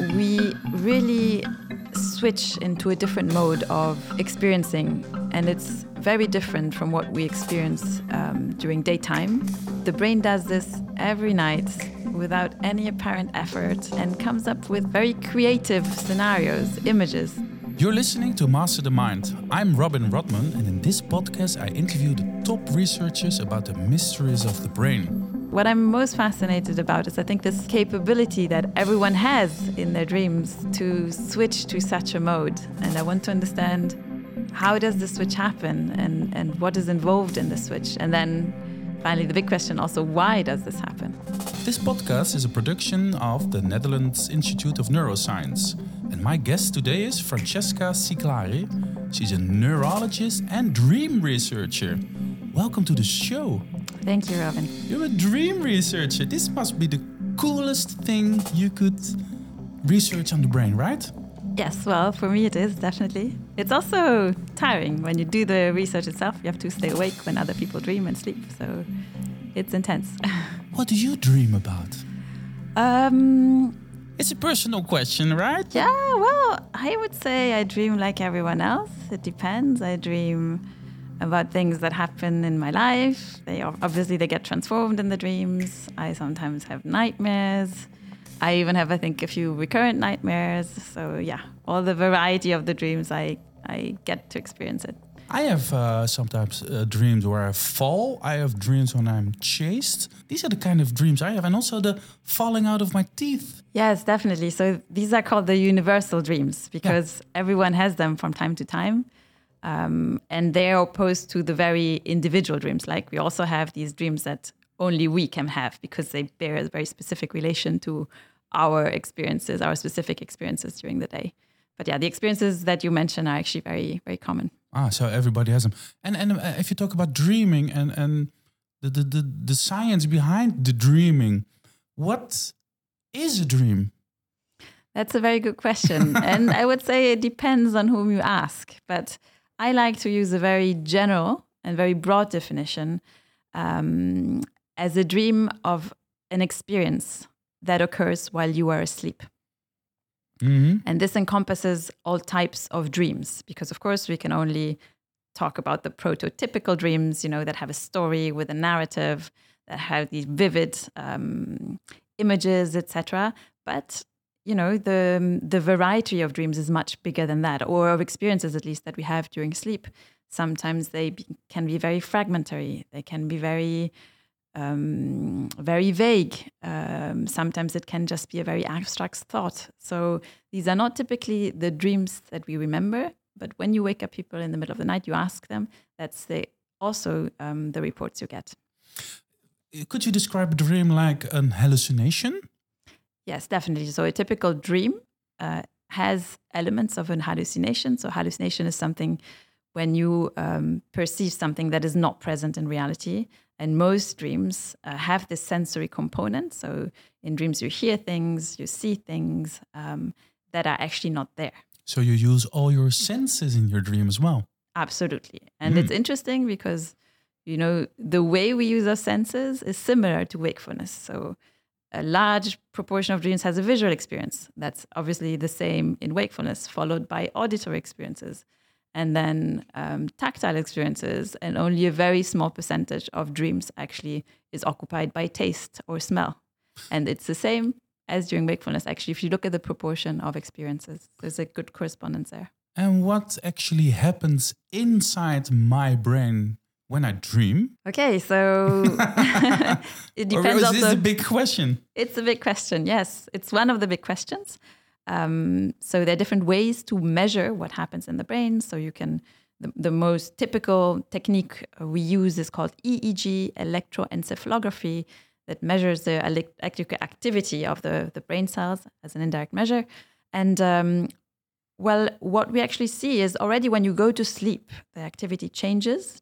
we really switch into a different mode of experiencing, and it's very different from what we experience during daytime. The brain does this every night without any apparent effort and comes up with very creative scenarios, images. You're listening to Master the Mind. I'm Robin Rodman, and in this podcast I interview the top researchers about the mysteries of the brain. What I'm most fascinated about is I think this capability that everyone has in their dreams to switch to such a mode. And I want to understand, how does the switch happen and what is involved in the switch? And then finally the big question also, why does this happen? This podcast is a production of the Netherlands Institute of Neuroscience. And my guest today is Francesca Ciclari. She's a neurologist and dream researcher. Welcome to the show. Thank you, Robin. You're a dream researcher. This must be the coolest thing you could research on the brain, right? Yes, well, for me it is, definitely. It's also tiring. When you do the research itself, you have to stay awake when other people dream and sleep. So it's intense. What do you dream about? It's a personal question, right? Yeah, well, I would say I dream like everyone else. It depends. I dream about things that happen in my life. They get transformed in the dreams. I sometimes have nightmares. I even have, I think, a few recurrent nightmares. So yeah, all the variety of the dreams, I get to experience it. I have sometimes dreams where I fall. I have dreams when I'm chased. These are the kind of dreams I have. And also the falling out of my teeth. Yes, definitely. So these are called the universal dreams because everyone has them from time to time. And they're opposed to the very individual dreams. Like we also have these dreams that only we can have because they bear a very specific relation to our experiences, our specific experiences during the day. But yeah, the experiences that you mentioned are actually very, very common. So everybody has them. And if you talk about dreaming and the science behind the dreaming, what is a dream? That's a very good question. And I would say it depends on whom you ask. But I like to use a very general and very broad definition as a dream of an experience that occurs while you are asleep. Mm-hmm. And this encompasses all types of dreams, because of course we can only talk about the prototypical dreams, that have a story with a narrative, that have these vivid images, etc. But the variety of dreams is much bigger than that, or of experiences at least that we have during sleep. Sometimes they can be very fragmentary. They can be very vague. Sometimes it can just be a very abstract thought. So these are not typically the dreams that we remember, but when you wake up people in the middle of the night, you ask them, that's also the reports you get. Could you describe a dream like an hallucination? Yes, definitely. So a typical dream has elements of an hallucination. So hallucination is something when you perceive something that is not present in reality. And most dreams have this sensory component. So in dreams, you hear things, you see things that are actually not there. So you use all your senses in your dream as well? Absolutely. And it's interesting because, the way we use our senses is similar to wakefulness. So a large proportion of dreams has a visual experience. That's obviously the same in wakefulness, followed by auditory experiences. And then tactile experiences, and only a very small percentage of dreams actually is occupied by taste or smell. And it's the same as during wakefulness. Actually, if you look at the proportion of experiences, there's a good correspondence there. And what actually happens inside my brain when I dream? Okay, so it depends. Or is this a big question? It's a big question, yes. It's one of the big questions. So there are different ways to measure what happens in the brain. So you can, the most typical technique we use is called EEG, electroencephalography, that measures the electrical activity of the brain cells as an indirect measure. And what we actually see is already when you go to sleep, the activity changes.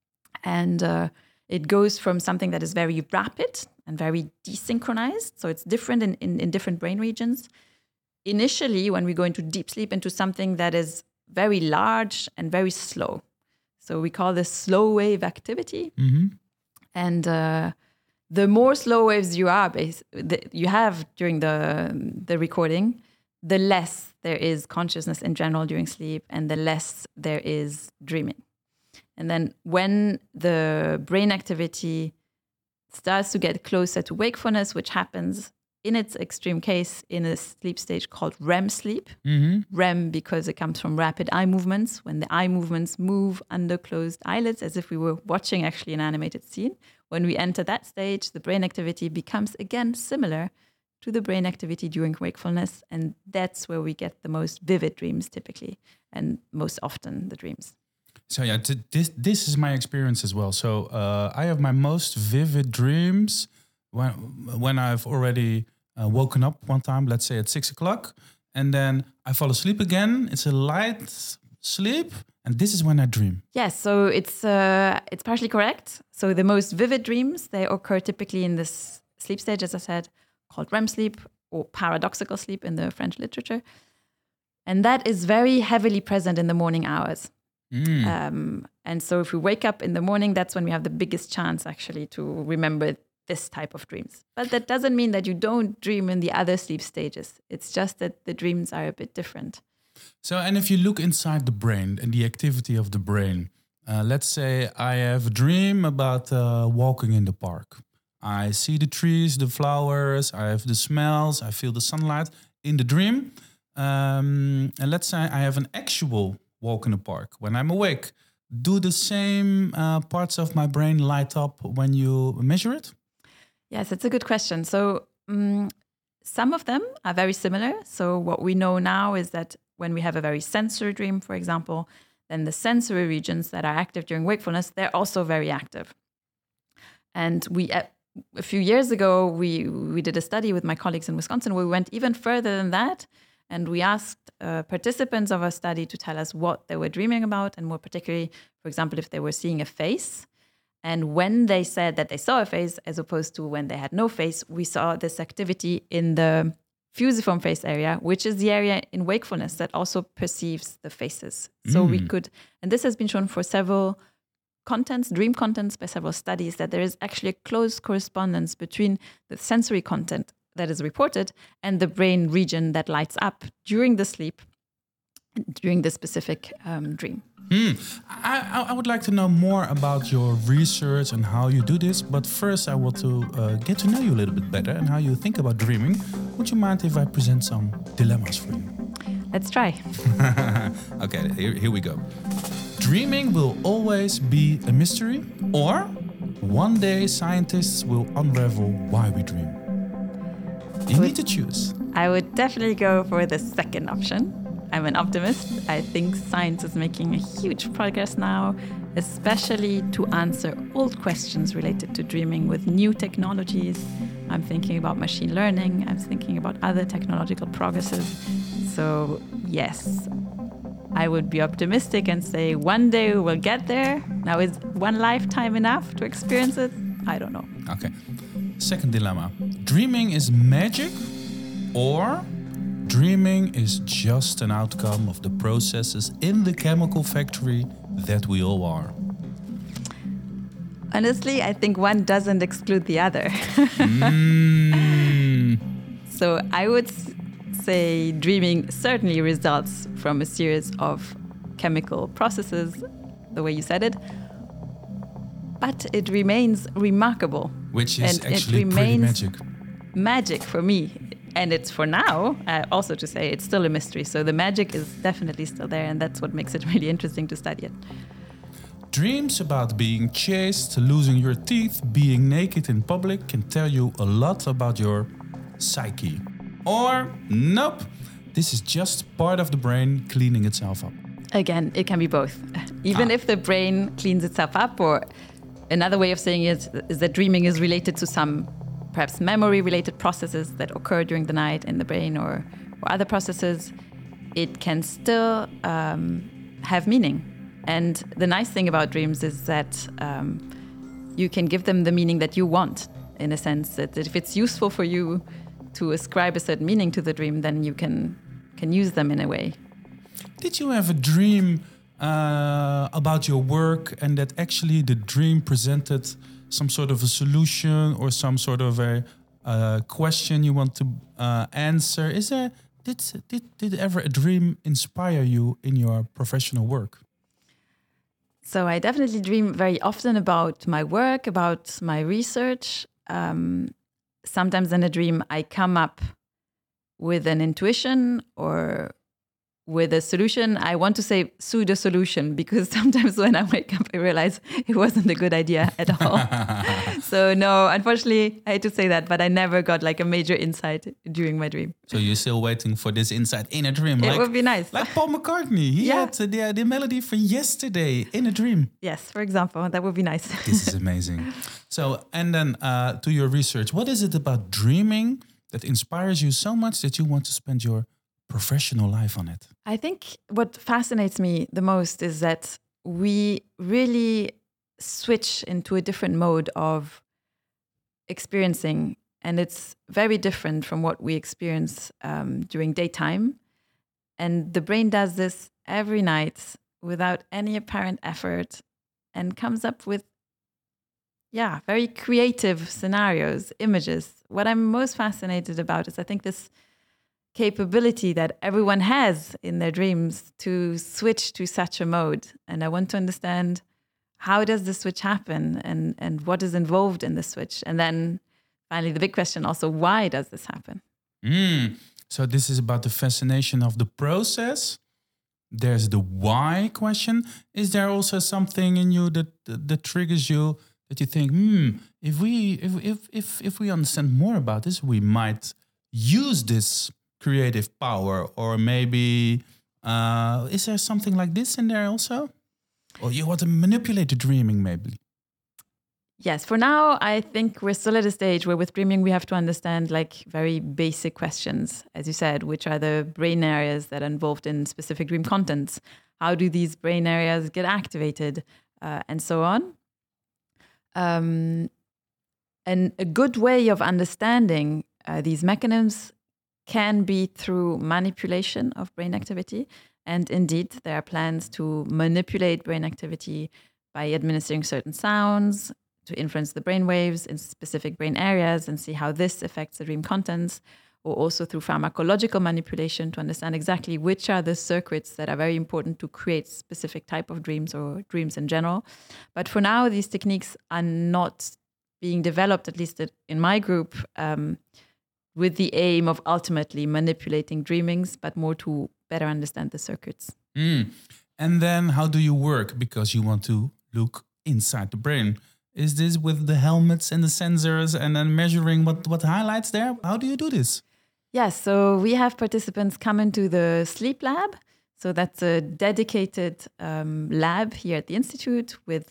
And it goes from something that is very rapid and very desynchronized. So it's different in different brain regions. Initially, when we go into deep sleep, into something that is very large and very slow. So we call this slow wave activity. Mm-hmm. And the more slow waves you have during the recording, the less there is consciousness in general during sleep and the less there is dreaming. And then when the brain activity starts to get closer to wakefulness, which happens in its extreme case in a sleep stage called REM sleep. REM because it comes from rapid eye movements, when the eye movements move under closed eyelids as if we were watching actually an animated scene. When we enter that stage, the brain activity becomes again similar to the brain activity during wakefulness. And that's where we get the most vivid dreams typically, and most often the dreams. So yeah, this is my experience as well. So I have my most vivid dreams when I've already woken up one time, let's say at 6 o'clock, and then I fall asleep again. It's a light sleep, and this is when I dream. Yes, so it's partially correct. So the most vivid dreams, they occur typically in this sleep stage, as I said, called REM sleep or paradoxical sleep in the French literature. And that is very heavily present in the morning hours. And so if we wake up in the morning, that's when we have the biggest chance actually to remember this type of dreams. But that doesn't mean that you don't dream in the other sleep stages. It's just that the dreams are a bit different. So, and if you look inside the brain and the activity of the brain, let's say I have a dream about walking in the park. I see the trees, the flowers, I have the smells, I feel the sunlight in the dream. And let's say I have an actual walk in the park. When I'm awake, do the same parts of my brain light up when you measure it? Yes, it's a good question. So some of them are very similar. So what we know now is that when we have a very sensory dream, for example, then the sensory regions that are active during wakefulness, they're also very active. And we, a few years ago, we did a study with my colleagues in Wisconsin where we went even further than that. And we asked participants of our study to tell us what they were dreaming about, and more particularly, for example, if they were seeing a face. And when they said that they saw a face, as opposed to when they had no face, we saw this activity in the fusiform face area, which is the area in wakefulness that also perceives the faces. So we could, and this has been shown for several contents, dream contents, by several studies, that there is actually a close correspondence between the sensory content that is reported and the brain region that lights up during the sleep, during the specific dream. I would like to know more about your research and how you do this, but first I want to get to know you a little bit better and how you think about dreaming. Would you mind if I present some dilemmas for you? Let's try. Okay, here we go. Dreaming will always be a mystery, or one day scientists will unravel why we dream. You need to choose. I would definitely go for the second option. I'm an optimist. I think science is making a huge progress now, especially to answer old questions related to dreaming with new technologies. I'm thinking about machine learning. I'm thinking about other technological progresses. So yes, I would be optimistic and say one day we will get there. Now, is one lifetime enough to experience it? I don't know. Okay. Second dilemma. Dreaming is magic, or dreaming is just an outcome of the processes in the chemical factory that we all are? Honestly, I think one doesn't exclude the other. So I would say dreaming certainly results from a series of chemical processes, the way you said it, but it remains remarkable. Which is actually pretty magic. Magic for me. And it's for now, also to say, it's still a mystery. So the magic is definitely still there, and that's what makes it really interesting to study it. Dreams about being chased, losing your teeth, being naked in public can tell you a lot about your psyche. Or, nope, this is just part of the brain cleaning itself up. Again, it can be both. Even if the brain cleans itself up, or another way of saying it is that dreaming is related to some perhaps memory-related processes that occur during the night in the brain, or other processes, it can still have meaning. And the nice thing about dreams is that you can give them the meaning that you want, in a sense that if it's useful for you to ascribe a certain meaning to the dream, then you can use them in a way. Did you have a dream about your work, and that actually the dream presented some sort of a solution or some sort of a question you want to answer? did ever a dream inspire you in your professional work? So I definitely dream very often about my work, about my research. Sometimes in a dream, I come up with an intuition or with a solution. I want to say pseudo solution because sometimes when I wake up, I realize it wasn't a good idea at all. So no, unfortunately, I hate to say that, but I never got like a major insight during my dream. So you're still waiting for this insight in a dream? It would be nice. Like Paul McCartney. He had the melody for Yesterday in a dream. Yes, for example, that would be nice. This is amazing. So, and then to your research, what is it about dreaming that inspires you so much that you want to spend your professional life on it? I think what fascinates me the most is that we really switch into a different mode of experiencing, and it's very different from what we experience during daytime. And the brain does this every night without any apparent effort and comes up with, very creative scenarios, images. What I'm most fascinated about is I think this capability that everyone has in their dreams to switch to such a mode. And I want to understand, how does the switch happen and what is involved in the switch? And then finally, the big question also, why does this happen? So this is about the fascination of the process. There's the why question. Is there also something in you that triggers you, that you think, if we understand more about this, we might use this creative power? Or maybe is there something like this in there also? Or you want to manipulate the dreaming maybe? Yes, for now, I think we're still at a stage where with dreaming, we have to understand like very basic questions, as you said, which are the brain areas that are involved in specific dream contents. How do these brain areas get activated and so on? And a good way of understanding these mechanisms can be through manipulation of brain activity. And indeed, there are plans to manipulate brain activity by administering certain sounds to influence the brain waves in specific brain areas and see how this affects the dream contents, or also through pharmacological manipulation to understand exactly which are the circuits that are very important to create specific type of dreams or dreams in general. But for now, these techniques are not being developed, at least in my group, with the aim of ultimately manipulating dreamings, but more to better understand the circuits. And then how do you work? Because you want to look inside the brain. Is this with the helmets and the sensors and then measuring what highlights there? How do you do this? Yes, so we have participants come into the sleep lab. So that's a dedicated lab here at the Institute with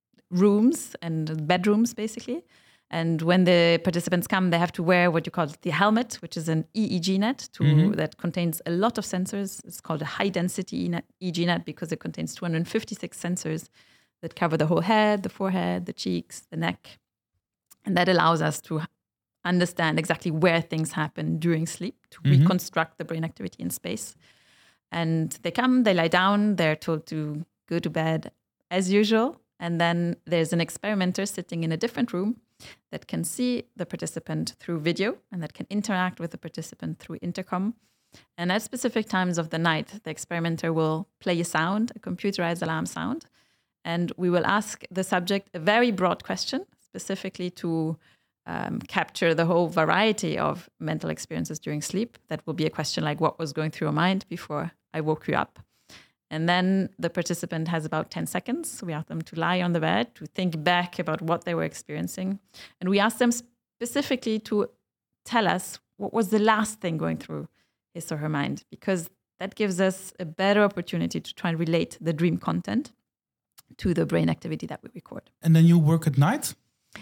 rooms and bedrooms, basically. And when the participants come, they have to wear what you call the helmet, which is an EEG net that contains a lot of sensors. It's called a high-density EEG net because it contains 256 sensors that cover the whole head, the forehead, the cheeks, the neck. And that allows us to understand exactly where things happen during sleep, to reconstruct the brain activity in space. And they come, they lie down, they're told to go to bed as usual. And then there's an experimenter sitting in a different room that can see the participant through video and that can interact with the participant through intercom. And at specific times of the night, the experimenter will play a sound, a computerized alarm sound. And we will ask the subject a very broad question, specifically to capture the whole variety of mental experiences during sleep. That will be a question like, what was going through your mind before I woke you up? And then the participant has about 10 seconds. We ask them to lie on the bed, to think back about what they were experiencing. And we ask them specifically to tell us what was the last thing going through his or her mind, because that gives us a better opportunity to try and relate the dream content to the brain activity that we record. And then you work at night?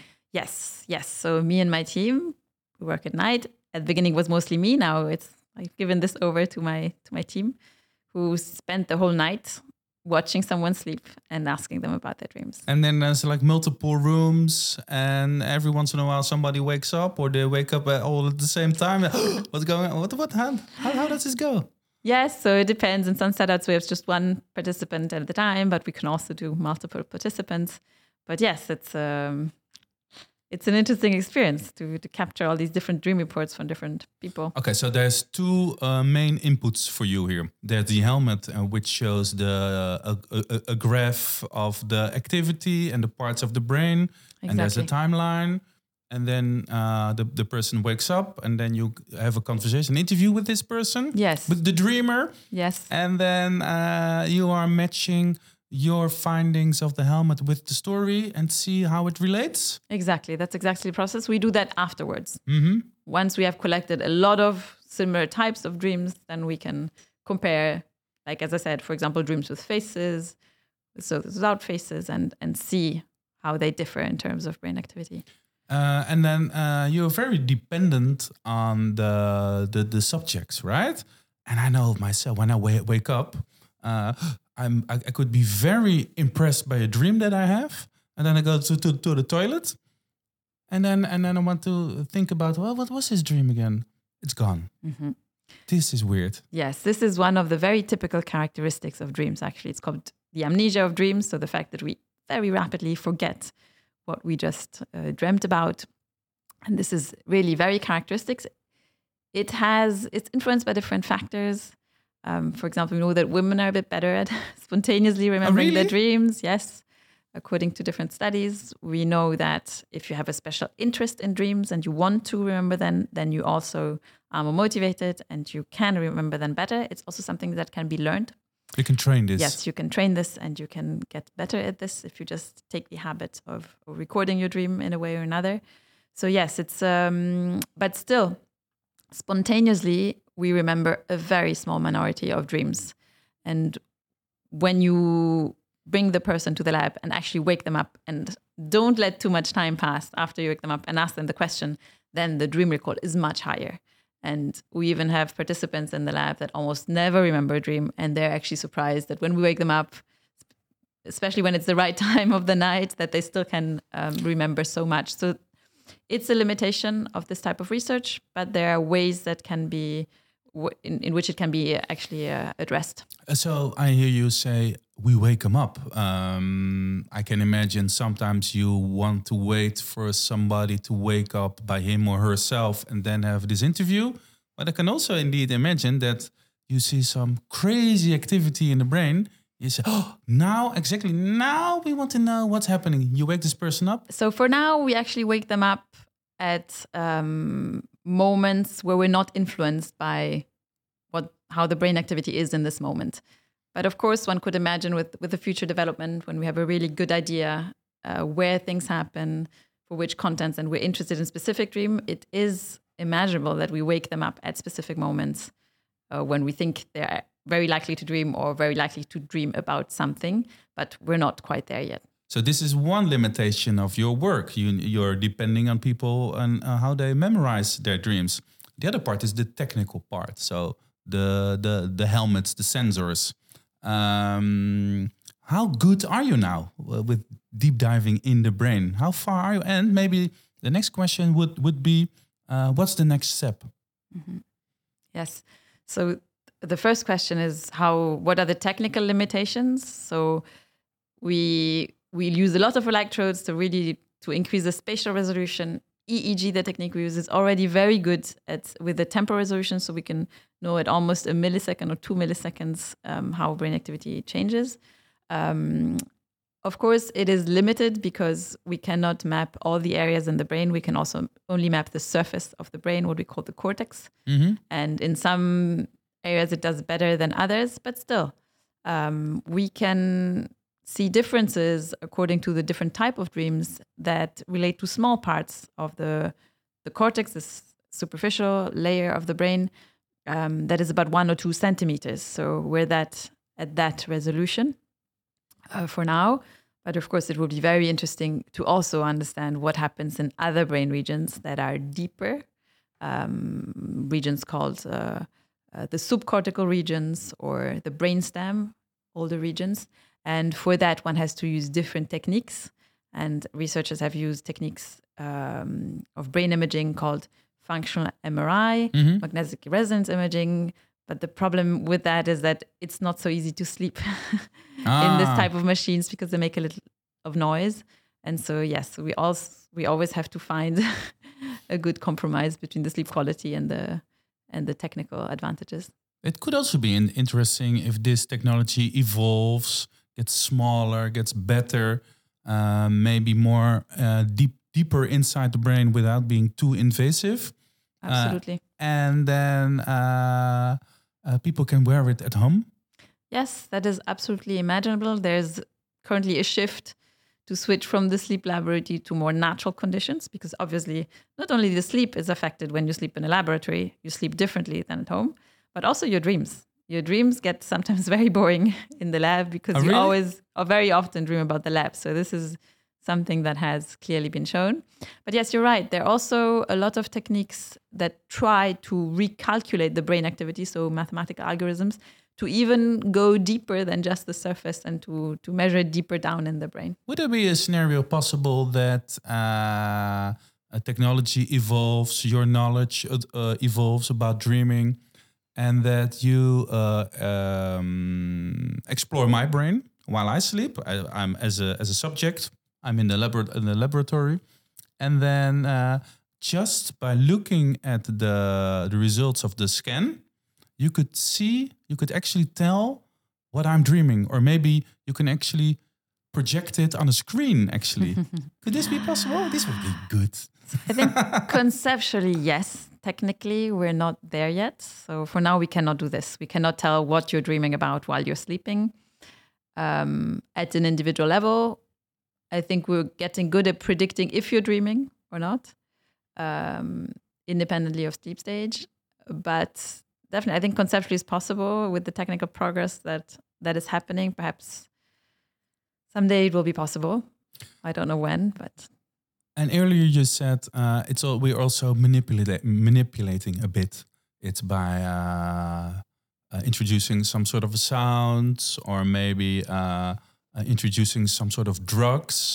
Yes. So me and my team, we work at night. At the beginning, it was mostly me. Now I've given this over to my team, who spent the whole night watching someone sleep and asking them about their dreams. And then there's like multiple rooms, and every once in a while somebody wakes up, or they wake up all at the same time. What's going on? What? How does this go? Yes, so it depends. In some setups, we have just one participant at a time, but we can also do multiple participants. But yes, it's it's an interesting experience to capture all these different dream reports from different people. Okay, so there's two main inputs for you here. There's the helmet, which shows a graph of the activity and the parts of the brain, and there's a timeline. And then the person wakes up, and then you have a conversation, interview with this person. Yes. With the dreamer. Yes. And then you are matching your findings of the helmet with the story and see how it relates. Exactly. That's exactly the process. We do that afterwards. Mm-hmm. Once we have collected a lot of similar types of dreams, then we can compare, like as I said, for example, dreams with faces, so without faces, and see how they differ in terms of brain activity. And then you're very dependent on the subjects, right? And I know myself, when I wake up, I could be very impressed by a dream that I have, and then I go to the toilet, and then I want to think about, well, what was his dream again? It's gone. Mm-hmm. This is weird. Yes, this is one of the very typical characteristics of dreams. Actually, it's called the amnesia of dreams. So the fact that we very rapidly forget what we just dreamt about. And this is really very characteristic. It's influenced by different factors. For example, we know that women are a bit better at spontaneously remembering their dreams. Yes, according to different studies. We know that if you have a special interest in dreams and you want to remember them, then you also are more motivated and you can remember them better. It's also something that can be learned. You can train this. Yes, you can train this, and you can get better at this if you just take the habit of recording your dream in a way or another. So yes, it's but still, spontaneously, we remember a very small minority of dreams. And when you bring the person to the lab and actually wake them up, and don't let too much time pass after you wake them up and ask them the question, then the dream recall is much higher. And we even have participants in the lab that almost never remember a dream, and they're actually surprised that when we wake them up, especially when it's the right time of the night, that they still can remember so much. So it's a limitation of this type of research, but there are ways that can be in which it can be actually addressed. So I hear you say we wake them up. I can imagine sometimes you want to wait for somebody to wake up by him or herself and then have this interview. But I can also indeed imagine that you see some crazy activity in the brain. You say, oh, now we want to know what's happening. You wake this person up. So for now, we actually wake them up at moments where we're not influenced by how the brain activity is in this moment. But of course, one could imagine with the future development, when we have a really good idea where things happen, for which contents, and we're interested in specific dream, it is imaginable that we wake them up at specific moments when we think they're very likely to dream or very likely to dream about something, but we're not quite there yet. So this is one limitation of your work. You're depending on people and how they memorize their dreams. The other part is the technical part. So the helmets, the sensors. How good are you now with deep diving in the brain? How far are you? And maybe the next question would be, what's the next step? Mm-hmm. Yes. So the first question is what are the technical limitations? So we use a lot of electrodes to increase the spatial resolution. EEG, the technique we use, is already very good with the temporal resolution, so we can know at almost a millisecond or 2 milliseconds how brain activity changes. Of course, it is limited because we cannot map all the areas in the brain. We can also only map the surface of the brain, what we call the cortex. Mm-hmm. And in some areas, it does better than others, but still, we can see differences according to the different type of dreams that relate to small parts of the cortex, this superficial layer of the brain that is about 1 or 2 centimeters. So we're at that resolution for now. But of course, it will be very interesting to also understand what happens in other brain regions that are deeper, regions called the subcortical regions or the brainstem, older regions. And for that, one has to use different techniques. And researchers have used techniques of brain imaging called functional MRI, mm-hmm. magnetic resonance imaging. But the problem with that is that it's not so easy to sleep in this type of machines because they make a little of noise. And so, yes, we always have to find a good compromise between the sleep quality and the technical advantages. It could also be interesting if this technology evolves, gets smaller, gets better, maybe more deeper inside the brain without being too invasive. Absolutely. And then people can wear it at home. Yes, that is absolutely imaginable. There's currently a shift to switch from the sleep laboratory to more natural conditions, because obviously not only the sleep is affected when you sleep in a laboratory, you sleep differently than at home, but also your dreams. Your dreams get sometimes very boring in the lab because you really? always or very often dream about the lab. So this is something that has clearly been shown. But yes, you're right. There are also a lot of techniques that try to recalculate the brain activity, so mathematical algorithms, to even go deeper than just the surface and to measure it deeper down in the brain. Would there be a scenario possible that a technology evolves, your knowledge evolves about dreaming, and that you explore my brain while I sleep? I'm as a subject. I'm in the laboratory, and then just by looking at the results of the scan, you could actually tell what I'm dreaming, or maybe you can actually project it on a screen. Actually, could this be possible? This would be good. I think conceptually, yes. Technically, we're not there yet. So for now, we cannot do this. We cannot tell what you're dreaming about while you're sleeping. At an individual level, I think we're getting good at predicting if you're dreaming or not, independently of sleep stage. But definitely, I think conceptually it's possible with the technical progress that is happening. Perhaps someday it will be possible. I don't know when, but... And earlier you said we're also manipulating a bit. It's by introducing some sort of sounds, or maybe introducing some sort of drugs.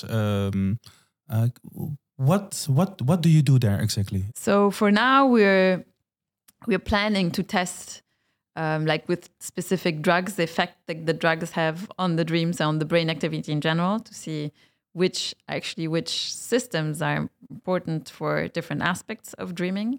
What do you do there exactly? So for now we're planning to test like with specific drugs, the effect that the drugs have on the dreams and on the brain activity in general, to see which systems are important for different aspects of dreaming.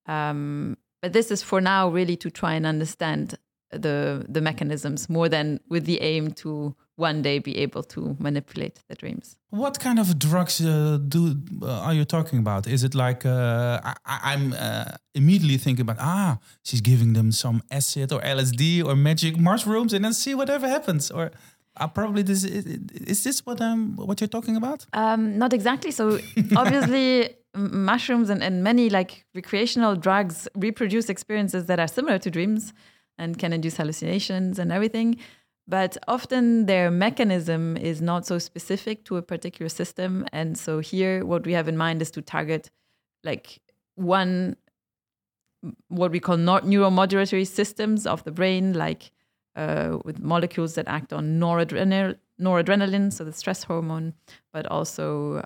But this is for now really to try and understand the mechanisms more than with the aim to one day be able to manipulate the dreams. What kind of drugs are you talking about? Is it like I'm immediately thinking about she's giving them some acid or LSD or magic mushrooms and then see whatever happens, or probably this is this what you're talking about? Not exactly. So obviously mushrooms and many like recreational drugs reproduce experiences that are similar to dreams and can induce hallucinations and everything. But often their mechanism is not so specific to a particular system. And so here what we have in mind is to target like one, what we call neuromodulatory systems of the brain, like with molecules that act on noradrenaline, so the stress hormone, but also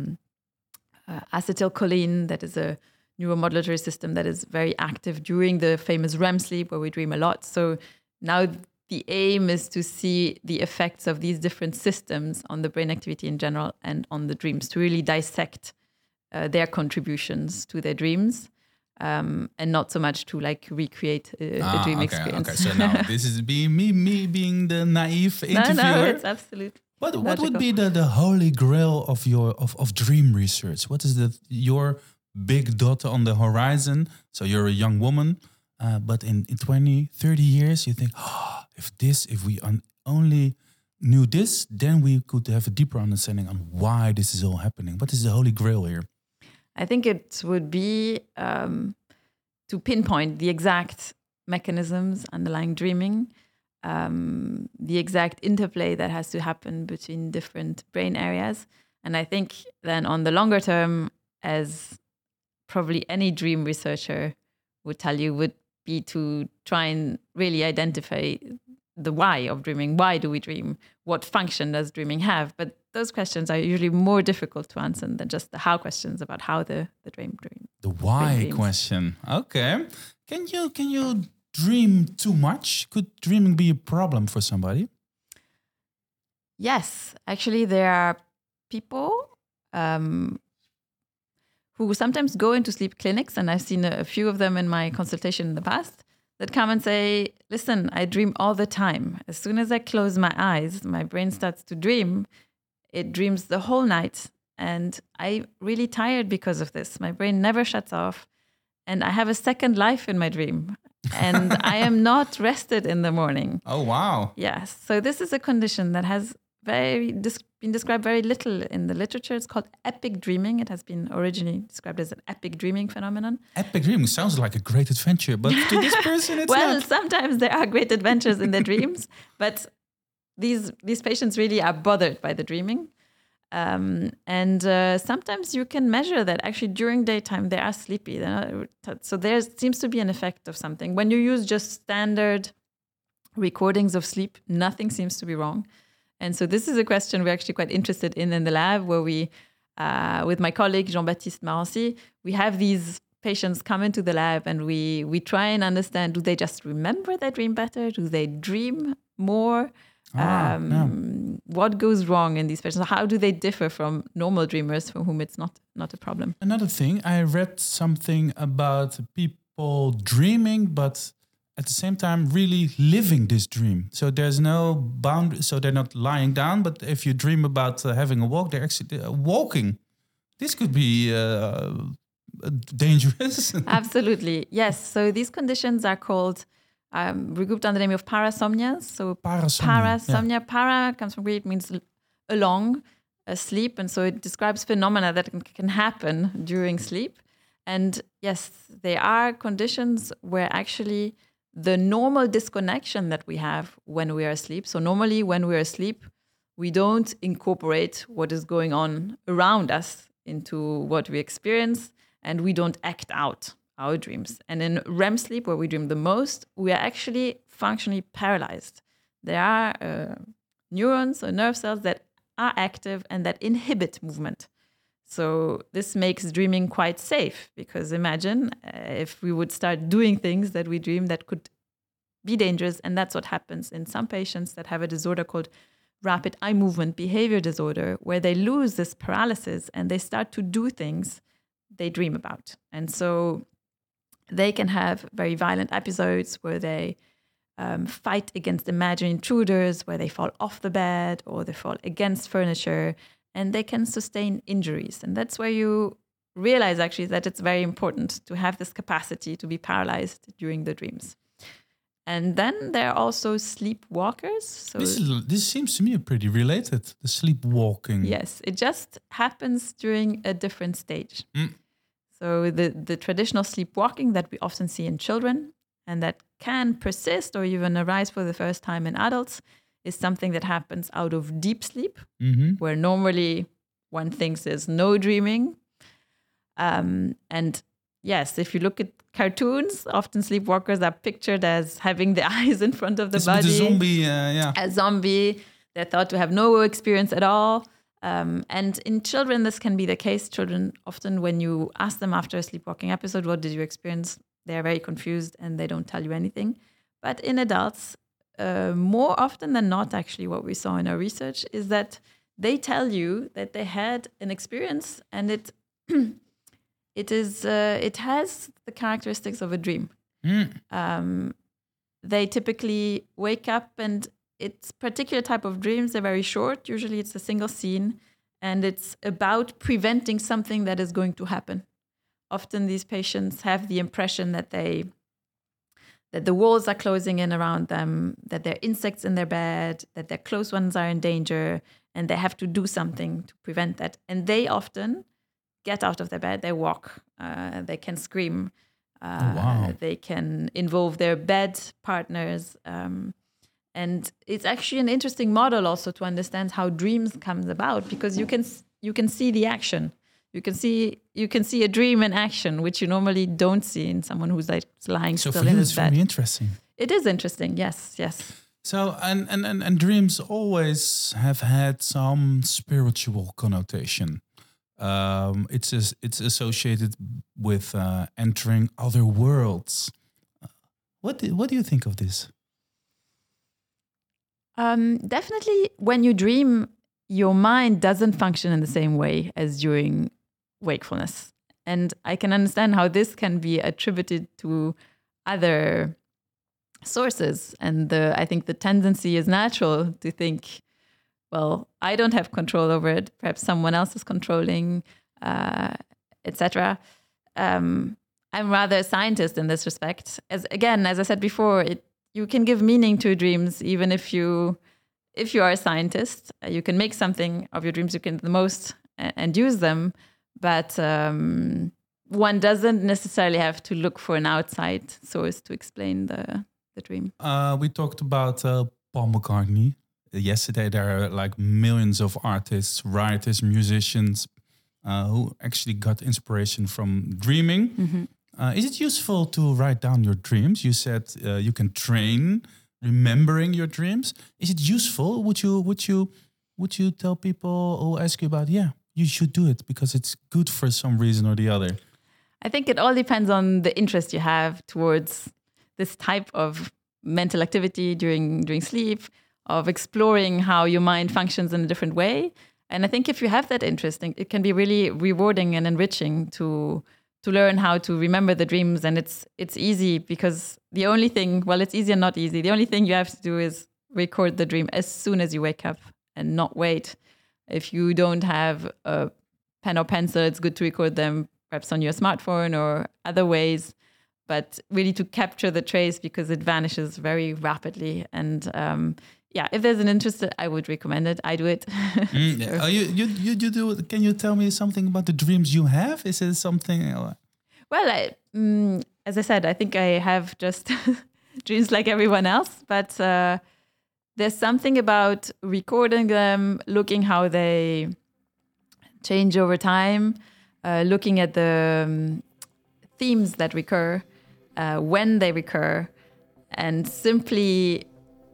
acetylcholine, that is a neuromodulatory system that is very active during the famous REM sleep where we dream a lot. So now the aim is to see the effects of these different systems on the brain activity in general and on the dreams, to really dissect their contributions to their dreams, and not so much to like recreate a dream experience. Okay, so now this is me being the naive interviewer. No, it's absolutely. What would be the holy grail of your dream research? What is your big dot on the horizon? So you're a young woman, but in 20, 30 years, you think, if we only knew this, then we could have a deeper understanding on why this is all happening. What is the holy grail here? I think it would be to pinpoint the exact mechanisms underlying dreaming, the exact interplay that has to happen between different brain areas. And I think then on the longer term, as probably any dream researcher would tell you, would be to try and really identify the why of dreaming. Why do we dream? What function does dreaming have? But those questions are usually more difficult to answer than just the how questions about how the dream. The why question. Okay. Can you dream too much? Could dreaming be a problem for somebody? Yes, actually, there are people who sometimes go into sleep clinics, and I've seen a few of them in my consultation in the past, that come and say, listen, I dream all the time. As soon as I close my eyes, my brain starts to dream. It dreams the whole night. And I'm really tired because of this. My brain never shuts off. And I have a second life in my dream. And I am not rested in the morning. Oh, wow. Yes. So this is a condition that has been described very little in the literature. It's called epic dreaming. It has been originally described as an epic dreaming phenomenon. Epic dreaming sounds like a great adventure, but to this person, it's well, not. Sometimes there are great adventures in their dreams, but these patients really are bothered by the dreaming. Sometimes you can measure that actually during daytime they are sleepy. So there seems to be an effect of something. When you use just standard recordings of sleep, nothing seems to be wrong. And so this is a question we're actually quite interested in the lab, where we, with my colleague Jean-Baptiste Marancy, we have these patients come into the lab and we try and understand, do they just remember their dream better? Do they dream more? What goes wrong in these patients? How do they differ from normal dreamers for whom it's not a problem? Another thing, I read something about people dreaming, but at the same time really living this dream. So there's no boundary, so they're not lying down, but if you dream about having a walk, they're actually walking. This could be dangerous. Absolutely, yes. So these conditions are called regrouped under the name of parasomnias. So parasomnia. Yeah. Para comes from Greek, means along sleep. And so it describes phenomena that can happen during sleep. And yes, there are conditions where actually the normal disconnection that we have when we are asleep. So normally when we are asleep, we don't incorporate what is going on around us into what we experience, and we don't act out our dreams. And in REM sleep, where we dream the most, we are actually functionally paralyzed. There are neurons or nerve cells that are active and that inhibit movement. So this makes dreaming quite safe, because imagine if we would start doing things that we dream that could be dangerous. And that's what happens in some patients that have a disorder called rapid eye movement behavior disorder, where they lose this paralysis and they start to do things they dream about. And so they can have very violent episodes where they fight against imaginary intruders, where they fall off the bed or they fall against furniture, and they can sustain injuries. And that's where you realize actually that it's very important to have this capacity to be paralyzed during the dreams. And then there are also sleepwalkers. So this seems to me pretty related, the sleepwalking. Yes, it just happens during a different stage. So the traditional sleepwalking that we often see in children and that can persist or even arise for the first time in adults is something that happens out of deep sleep, where normally one thinks there's no dreaming. And yes, if you look at cartoons, often sleepwalkers are pictured as having the eyes in front of the body. A zombie, A zombie. They're thought to have no experience at all. And in children, this can be the case. Children, often when you ask them after a sleepwalking episode, what did you experience? They're very confused and they don't tell you anything. But in adults, more often than not, actually, what we saw in our research is that they tell you that they had an experience, and it has the characteristics of a dream. They typically wake up, and it's particular type of dreams. They're very short. Usually it's a single scene, and it's about preventing something that is going to happen. Often these patients have the impression that the walls are closing in around them, that there are insects in their bed, that their close ones are in danger, and they have to do something to prevent that. And they often get out of their bed, they walk, they can scream, they can involve their bed partners. And it's actually an interesting model also to understand how dreams comes about, because you can see the action. You can see a dream in action, which you normally don't see in someone who's like lying still in his bed. So for you, it's very interesting. It is interesting, yes. So and dreams always have had some spiritual connotation. It's associated with entering other worlds. What do you think of this? Definitely, when you dream, your mind doesn't function in the same way as during wakefulness. And I can understand how this can be attributed to other sources. And I think the tendency is natural to think, well, I don't have control over it. Perhaps someone else is controlling, etc. I'm rather a scientist in this respect. As I said before, you can give meaning to dreams even if you are a scientist. You can make something of your dreams. You can the most and use them, but one doesn't necessarily have to look for an outside source to explain the dream. We talked about Paul McCartney. Yesterday, there are like millions of artists, writers, musicians who actually got inspiration from dreaming. Mm-hmm. Is it useful to write down your dreams? You said you can train remembering your dreams. Is it useful? Would you tell people who ask you about, you should do it because it's good for some reason or the other? I think it all depends on the interest you have towards this type of mental activity during sleep, of exploring how your mind functions in a different way. And I think if you have that interest, it can be really rewarding and enriching to learn how to remember the dreams. And it's easy because the only thing, it's easy and not easy. The only thing you have to do is record the dream as soon as you wake up and not wait. If you don't have a pen or pencil, it's good to record them perhaps on your smartphone or other ways, but really to capture the trace because it vanishes very rapidly. And if there's an interest, I would recommend it. I do it. Sure. You do it. Can you tell me something about the dreams you have? Is it something? Well, as I said, I think I have just dreams like everyone else, but there's something about recording them, looking how they change over time, looking at the themes that recur, when they recur, and simply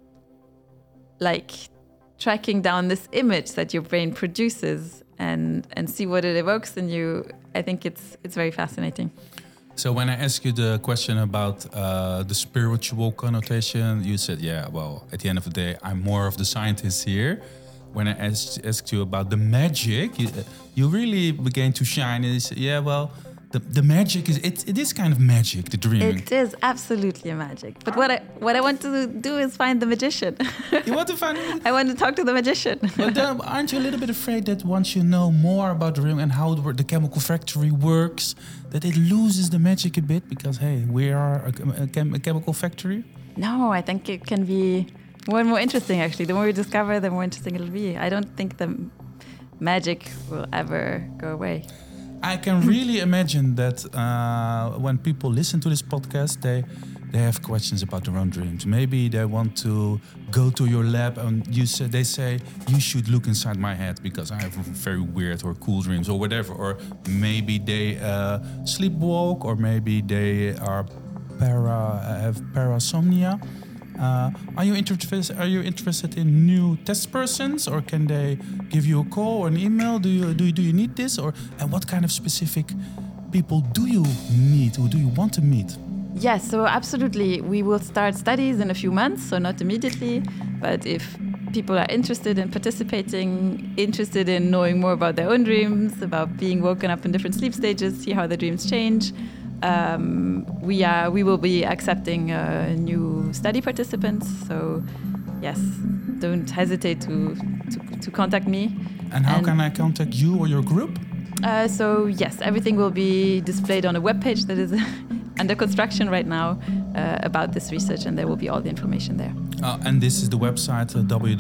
like tracking down this image that your brain produces and see what it evokes in you. I think it's very fascinating. So when I ask you the question about the spiritual connotation, you said, at the end of the day, I'm more of the scientist here. When I asked you about the magic, you really began to shine. And you said, the magic it is kind of magic, the dreaming. It is absolutely a magic. But what I want to do is find the magician. You want to find him? I want to talk to the magician. But aren't you a little bit afraid that once you know more about the dream and how the chemical factory works, that it loses the magic a bit? Because, hey, we are a chemical factory? No, I think it can be more and more interesting, actually. The more we discover, the more interesting it'll be. I don't think the magic will ever go away. I can really imagine that when people listen to this podcast, they have questions about their own dreams. Maybe they want to go to your lab and they say, you should look inside my head because I have very weird or cool dreams or whatever. Or maybe they sleepwalk, or maybe they are have parasomnia. Are you interested in new test persons, or can they give you a call or an email? Do you need this, and what kind of specific people do you need or do you want to meet? Yes, so absolutely. We will start studies in a few months, so not immediately. But if people are interested in participating, interested in knowing more about their own dreams, about being woken up in different sleep stages, see how the dreams change, we will be accepting new study participants. So yes, don't hesitate to contact me. And how can I contact you or your group? So yes, everything will be displayed on a webpage that is under construction right now about this research, and there will be all the information there. And this is the website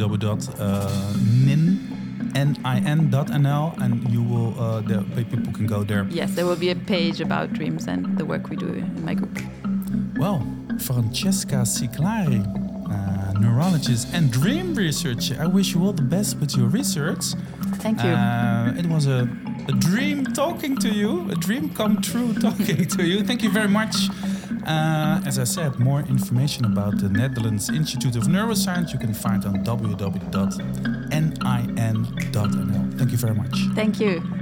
nin.nl, and you will people can go there. Yes, there will be a page about dreams and the work we do in my group. Well, Francesca Ciclari, neurologist and dream researcher, I wish you all the best with your research. Thank you. It was a dream talking to you, a dream come true talking to you. Thank you very much. As I said, more information about the Netherlands Institute of Neuroscience you can find on www.nin.nl. Thank you very much. Thank you.